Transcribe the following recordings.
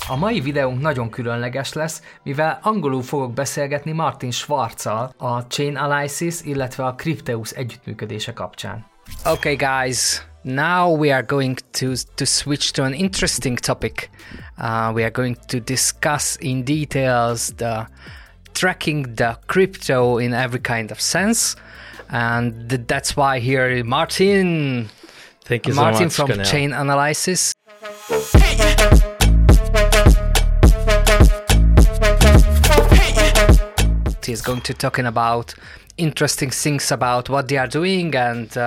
A mai videónk nagyon különleges lesz, mivel angolul fogok beszélgetni Martin Schwarzzal a Chainalysis, illetve a Crypteus együttműködése kapcsán. Okay guys, now we are going to switch to an interesting topic. We are going to discuss in details the tracking the crypto in every kind of sense, and that's why here Martin. Thank you so Martin much, from Cornel. Chainalysis. He's going to talking about interesting things about what they are doing and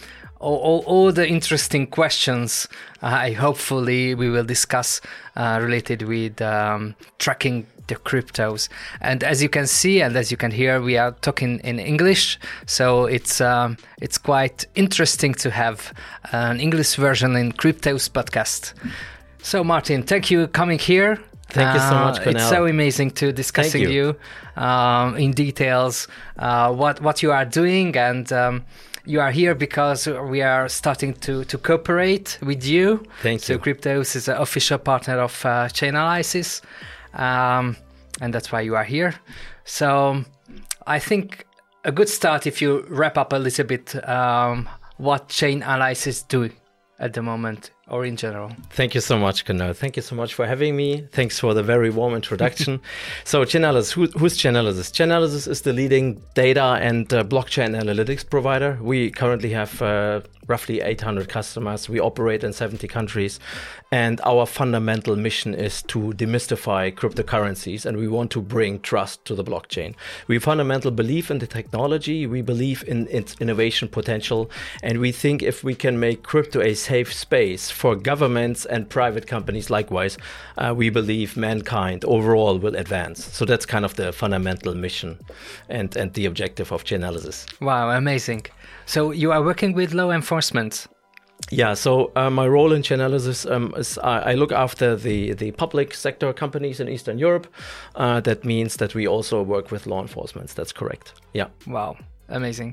all the interesting questions hopefully we will discuss related with tracking the cryptos. And as you can see and as you can hear, we are talking in English, so it's quite interesting to have an English version in Crypteus podcast. So Martin, thank you coming here. Thank you so much, Cornel. It's so amazing to discussing Thank you in details what you are doing, and you are here because we are starting to cooperate with you. Thank you. So Crypteus is an official partner of Chainalysis, and that's why you are here. So I think a good start if you wrap up a little bit what Chainalysis do at the moment or in general. Thank you so much, Cornel. Thank you so much for having me. Thanks for the very warm introduction. So Chainalysis, who's Chainalysis? Chainalysis is the leading data and blockchain analytics provider. We currently have roughly 800 customers. We operate in 70 countries. And our fundamental mission is to demystify cryptocurrencies, and we want to bring trust to the blockchain. We fundamentally believe in the technology. We believe in its innovation potential. And we think if we can make crypto a safe space for governments and private companies likewise, we believe mankind overall will advance. So that's kind of the fundamental mission and the objective of Chainalysis. Wow, amazing. So you are working with law enforcement. Yeah, so my role in Chainalysis is I look after the public sector companies in Eastern Europe. That means that we also work with law enforcement. That's correct. Yeah. Wow, amazing.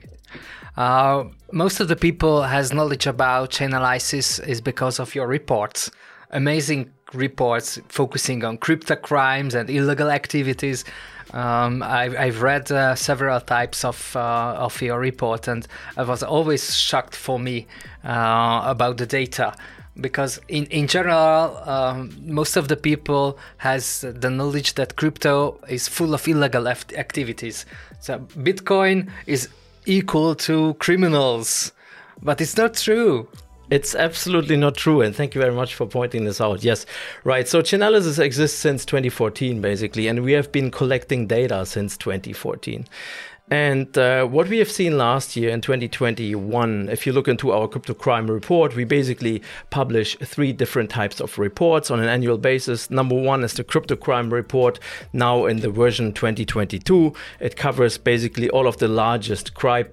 Most of the people has knowledge about Chainalysis is because of your reports. Amazing reports focusing on crypto crimes and illegal activities. I've read several types of your report, and I was always shocked for me about the data, because in general most of the people has the knowledge that crypto is full of illegal activities. So Bitcoin is equal to criminals, but it's not true. It's absolutely not true, and thank you very much for pointing this out. Yes, right. So Chainalysis exists since 2014, basically, and we have been collecting data since 2014. And what we have seen last year in 2021, if you look into our crypto crime report, we basically publish 3 different types of reports on an annual basis. Number 1 is the crypto crime report, now in the version 2022. It covers basically all of the largest crime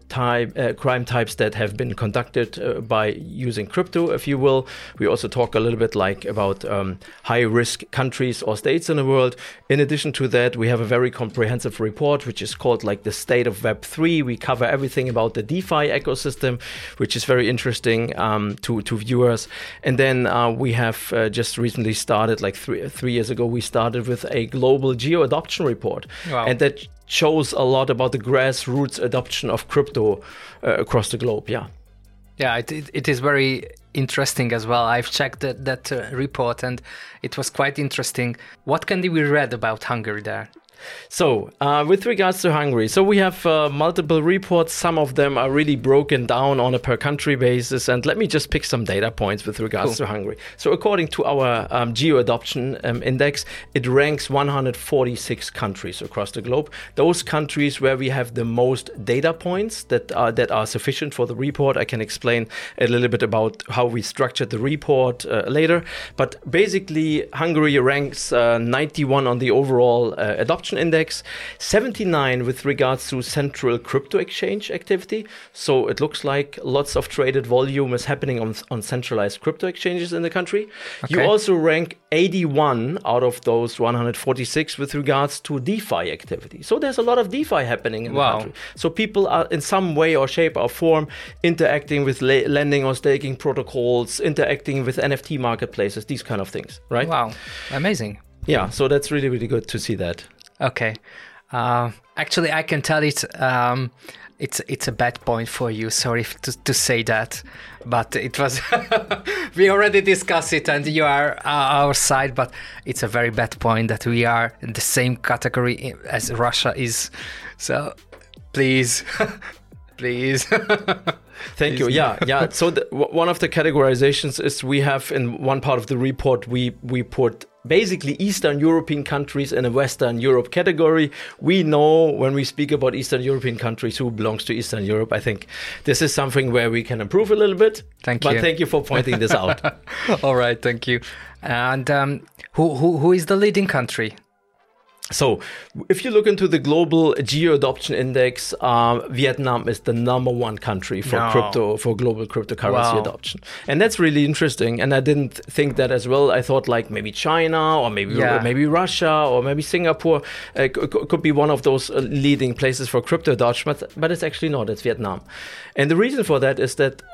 types that have been conducted by using crypto, if you will. We also talk a little bit like about high-risk countries or states in the world. In addition to that, we have a very comprehensive report, which is called like the State of Web3. We cover everything about the DeFi ecosystem, which is very interesting to viewers. And then we have just recently started, like three years ago, we started with a global geo-adoption report. Wow. And that shows a lot about the grassroots adoption of crypto across the globe. Yeah. Yeah, it is very interesting as well. I've checked that report, and it was quite interesting. What can we read about Hungary there? So, with regards to Hungary, so we have multiple reports. Some of them are really broken down on a per country basis. And let me just pick some data points with regards to Hungary. So, according to our geo-adoption index, it ranks 146 countries across the globe. Those countries where we have the most data points that are sufficient for the report. I can explain a little bit about how we structured the report later. But basically, Hungary ranks 91 on the overall adoption Adoption Index, 79 with regards to central crypto exchange activity. So it looks like lots of traded volume is happening on centralized crypto exchanges in the country. Okay. You also rank 81 out of those 146 with regards to DeFi activity. So there's a lot of DeFi happening in the country. So people are in some way or shape or form interacting with lending or staking protocols, interacting with NFT marketplaces, these kind of things, right? Wow, amazing. Yeah, so that's really, really good to see that. Okay. Actually, I can tell it's a bad point for you. Sorry to say that, but it was we already discussed it, and you are our side. But it's a very bad point that we are in the same category as Russia is. So please, please. Thank you. Yeah. So one of the categorizations is we have in one part of the report we put basically Eastern European countries in a Western Europe category. We know when we speak about Eastern European countries who belongs to Eastern Europe. I think this is something where we can improve a little bit. Thank you. But thank you for pointing this out. All right, thank you. And who is the leading country? So if you look into the global Geo Adoption Index, Vietnam is the #1 country for global cryptocurrency adoption. And that's really interesting. And I didn't think that as well. I thought like maybe China or maybe Russia or maybe Singapore could be one of those leading places for crypto adoption, but it's actually not. It's Vietnam. And the reason for that is that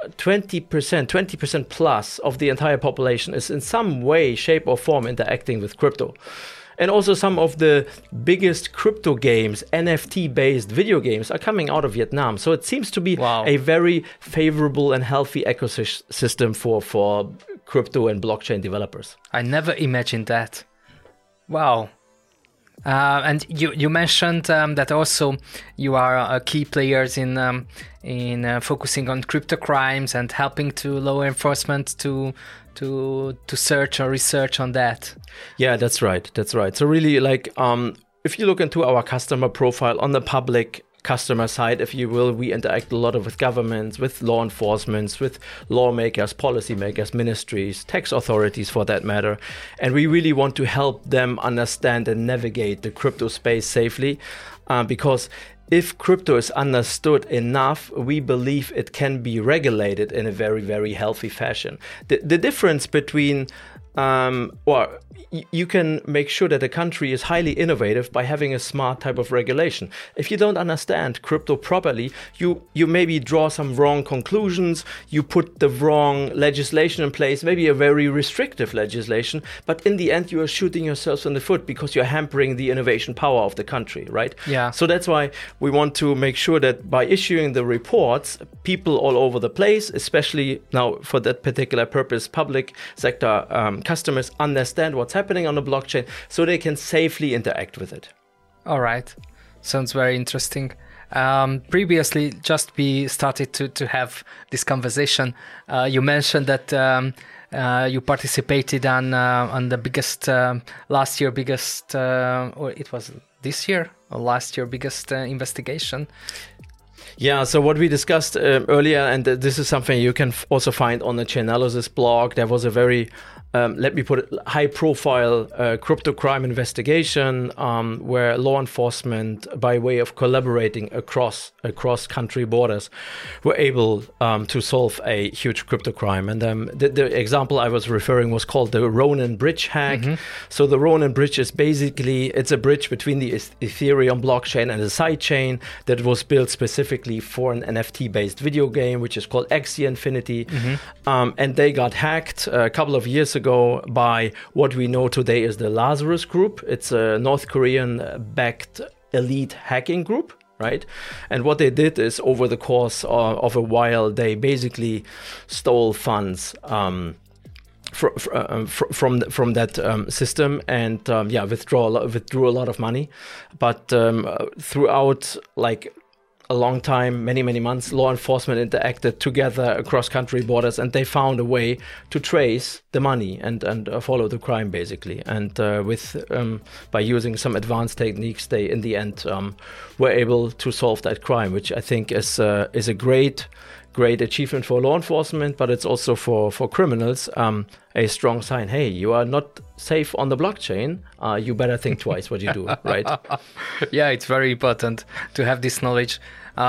20% plus of the entire population is in some way, shape or form interacting with crypto. And also some of the biggest crypto games, NFT-based video games, are coming out of Vietnam. So it seems to be a very favorable and healthy ecosystem for crypto and blockchain developers. I never imagined that. Wow. And you mentioned that also you are key players in focusing on crypto crimes and helping to law enforcement to search or research on that. Yeah, that's right. So really, like, if you look into our customer profile on the public customer side, if you will, we interact a lot with governments, with law enforcement, with lawmakers, policymakers, ministries, tax authorities for that matter. And we really want to help them understand and navigate the crypto space safely, because if crypto is understood enough, we believe it can be regulated in a very, very healthy fashion. The difference between you can make sure that a country is highly innovative by having a smart type of regulation. If you don't understand crypto properly, you maybe draw some wrong conclusions, you put the wrong legislation in place, maybe a very restrictive legislation, but in the end you are shooting yourselves in the foot because you're hampering the innovation power of the country, right? Yeah. So that's why we want to make sure that by issuing the reports, people all over the place, especially now for that particular purpose, public sector customers understand what's happening on the blockchain so they can safely interact with it. All right. Sounds very interesting. Previously, just we started to have this conversation. You mentioned that you participated on the biggest, last year biggest, or it was this year or last year biggest investigation. Yeah, so what we discussed earlier, and this is something you can also find on the Chainalysis blog, there was a very, let me put it, high-profile crypto crime investigation where law enforcement, by way of collaborating across country borders, were able to solve a huge crypto crime. And the example I was referring was called the Ronin Bridge hack. Mm-hmm. So the Ronin Bridge is basically, it's a bridge between the Ethereum blockchain and a sidechain that was built specifically for an NFT-based video game, which is called Axie Infinity. Mm-hmm. And they got hacked a couple of years ago by what we know today is the Lazarus Group. It's a North Korean-backed elite hacking group, right? And what they did is, over the course of a while, they basically stole funds from that system and withdrew a lot of money. But throughout a long time, many months, law enforcement interacted together across country borders, and they found a way to trace the money and follow the crime, basically. And by using some advanced techniques, they in the end were able to solve that crime, which I think is a great great achievement for law enforcement, but it's also for criminals a strong sign. Hey, you are not safe on the blockchain. You better think twice what you do, right? Yeah, it's very important to have this knowledge.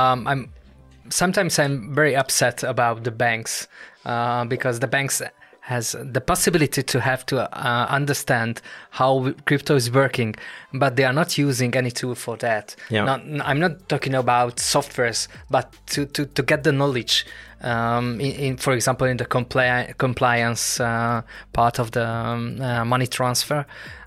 Sometimes I'm very upset about the banks because the banks has the possibility to have to understand how crypto is working, but they are not using any tool for that. Yeah. I'm not talking about softwares, but to get the knowledge, for example, in the compliance part of the money transfer.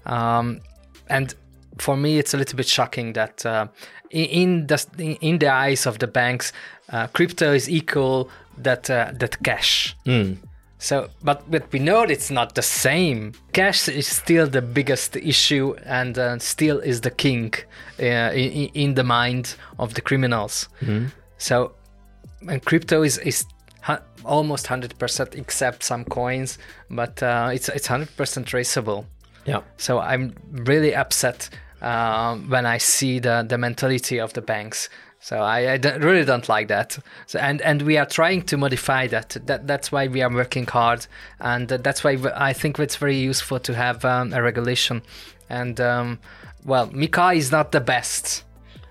And for me, it's a little bit shocking that in the eyes of the banks, crypto is equal that cash. So, but we know it's not the same. Cash is still the biggest issue and still is the king in the mind of the criminals. So, and crypto is almost 100% except some coins, but it's 100% traceable. Yeah. So I'm really upset when I see the mentality of the banks. So I really don't like that. So, and we are trying to modify that. That's why we are working hard, and that's why I think it's very useful to have a regulation. And well, MiCA is not the best,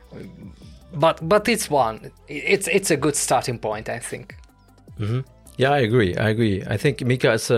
but it's one. It's a good starting point, I think. Yeah, I agree. I think MiCA is,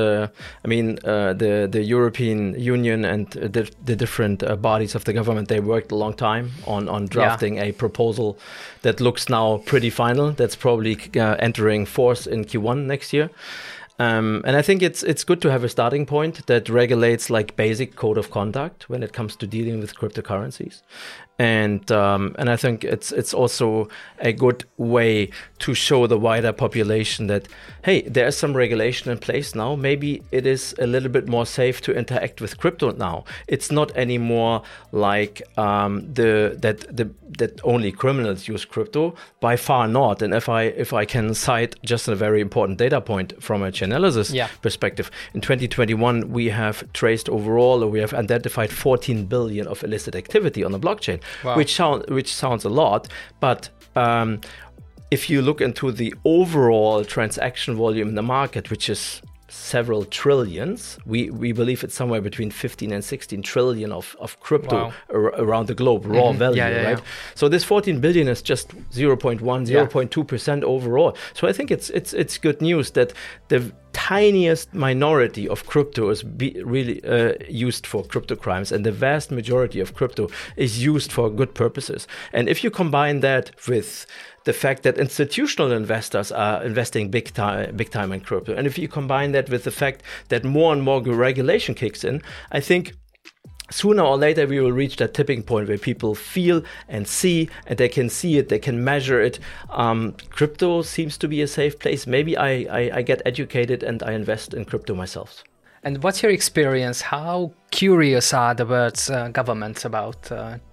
the European Union and the different bodies of the government, they worked a long time on drafting a proposal that looks now pretty final. That's probably entering force in Q1 next year. And I think it's good to have a starting point that regulates like basic code of conduct when it comes to dealing with cryptocurrencies. And I think it's also a good way to show the wider population that, hey, there's some regulation in place now. Maybe it is a little bit more safe to interact with crypto now. It's not anymore like that only criminals use crypto. By far not. And if I can cite just a very important data point from a Chainalysis perspective, in 2021 we have traced overall, or we have identified 14 billion of illicit activity on the blockchain. Wow. Which sounds a lot, but if you look into the overall transaction volume in the market, which is several trillions, we believe it's somewhere between 15 and 16 trillion of crypto around the globe, raw value, right? So this 14 billion is just 0.1, 0.2% overall. So I think it's good news that the tiniest minority of crypto is really used for crypto crimes, and the vast majority of crypto is used for good purposes. And if you combine that with the fact that institutional investors are investing big time in crypto, and if you combine that with the fact that more and more regulation kicks in, I think sooner or later we will reach that tipping point where people feel and see, and they can see it, they can measure it. Crypto seems to be a safe place. Maybe I get educated and I invest in crypto myself. And what's your experience? How curious are the world's governments about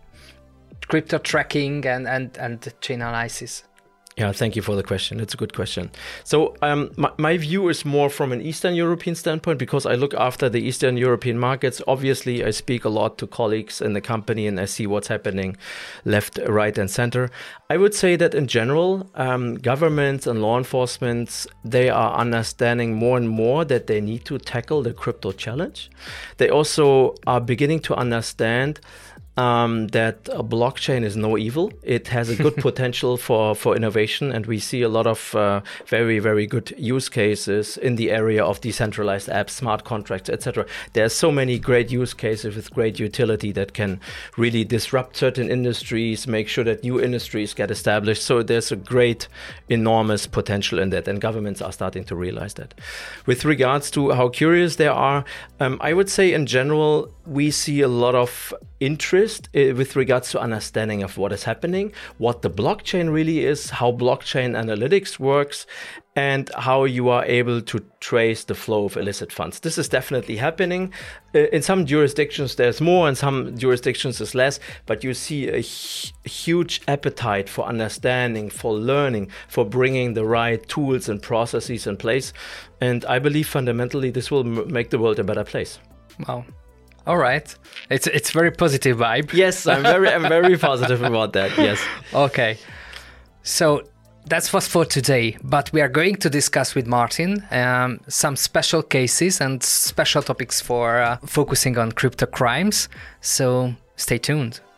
crypto tracking and Chainalysis? Yeah, thank you for the question. It's a good question. So my view is more from an Eastern European standpoint, because I look after the Eastern European markets. Obviously, I speak a lot to colleagues in the company and I see what's happening left, right, and center. I would say that in general, governments and law enforcement, they are understanding more and more that they need to tackle the crypto challenge. They also are beginning to understand that a blockchain is no evil. It has a good potential for innovation, and we see a lot of very, very good use cases in the area of decentralized apps, smart contracts, etc. There are so many great use cases with great utility that can really disrupt certain industries, make sure that new industries get established. So there's a great, enormous potential in that, and governments are starting to realize that. With regards to how curious they are, I would say in general, we see a lot of interest with regards to understanding of what is happening, what the blockchain really is, how blockchain analytics works, and how you are able to trace the flow of illicit funds. This is definitely happening. In some jurisdictions there's more, in some jurisdictions there's less, but you see a huge appetite for understanding, for learning, for bringing the right tools and processes in place. And I believe fundamentally this will make the world a better place. Wow. All right. It's very positive vibe. Yes, I'm very positive about that. Yes. Okay. So That was for today, but we are going to discuss with Martin some special cases and special topics for focusing on crypto crimes. So stay tuned.